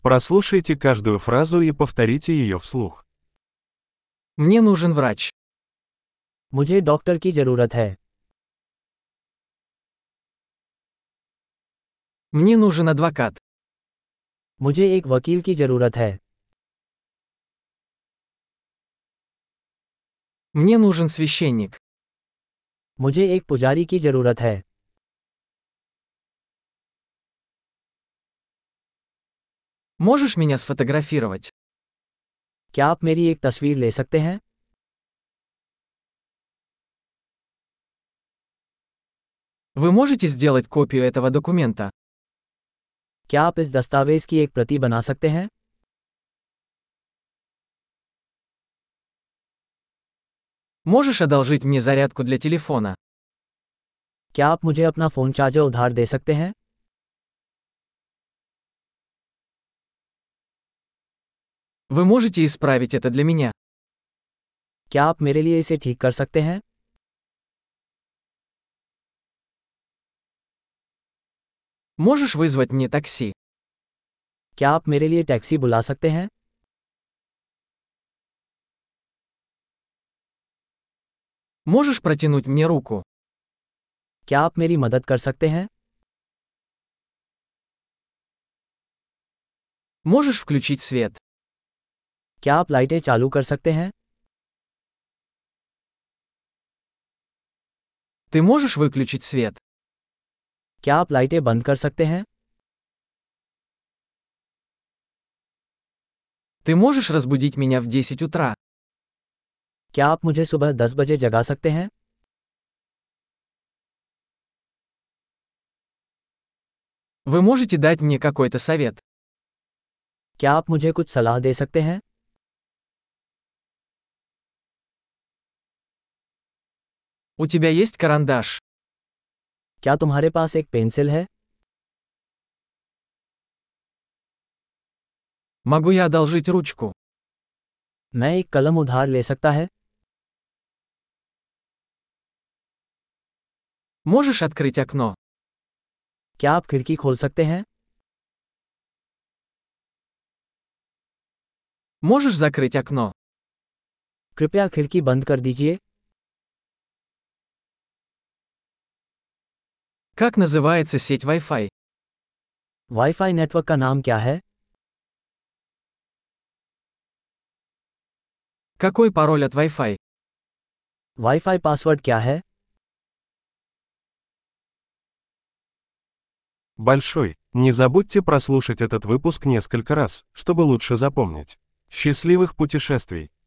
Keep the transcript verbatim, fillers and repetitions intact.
Прослушайте каждую фразу и повторите ее вслух. Мне нужен врач. मुझे डॉक्टर की ज़रूरत है। Мне нужен адвокат. मुझे एक वकील की ज़रूरत है। Мне нужен священник. मुझे एक पुजारी की ज़रूरत है। Можешь меня сфотографировать? क्या आप मेरी एक तस्वीर ले सकते हैं? Вы можете сделать копию этого документа? क्या आप इस दस्तावेज़ की एक प्रति बना सकते हैं? Можешь одолжить мне зарядку для телефона? क्या आप मुझे अपना फ़ोन चार्जर उधार दे सकते हैं? Вы можете исправить это для меня? क्या आप मेरे लिए इसे ठीक कर सकते हैं? Можешь вызвать мне такси? क्या आप मेरे लिए टैक्सी बुला सकते हैं? Можешь протянуть мне руку? क्या आप मेरी मदद कर सकते हैं? Можешь включить свет? क्या आप लाइटें चालू कर सकते हैं? Ты можешь выключить свет? क्या आप लाइटें बंद कर सकते हैं? Ты можешь разбудить меня в десять утра? क्या आप मुझे सुबह दस बजे जगा सकते हैं? Вы можете дать мне какой-то совет? क्या आप मुझे कुछ सलाह दे सकते हैं? У тебя есть карандаш? क्या तुम्हारे पास एक पेंसिल है? Могу я одолжить ручку? मैं एक कलम उधार ले सकता है? Можешь открыть окно? क्या आप खिड़की खोल सकते हैं? Можешь закрыть окно? कृपया खिड़की बंद कर दीजिए। Как называется сеть Wi-Fi? वाईफाई नेटवर्क का नाम क्या है? Какой пароль от Wi-Fi? वाईफाई पासवर्ड क्या है? Большой. Не забудьте прослушать этот выпуск несколько раз, чтобы лучше запомнить. Счастливых путешествий!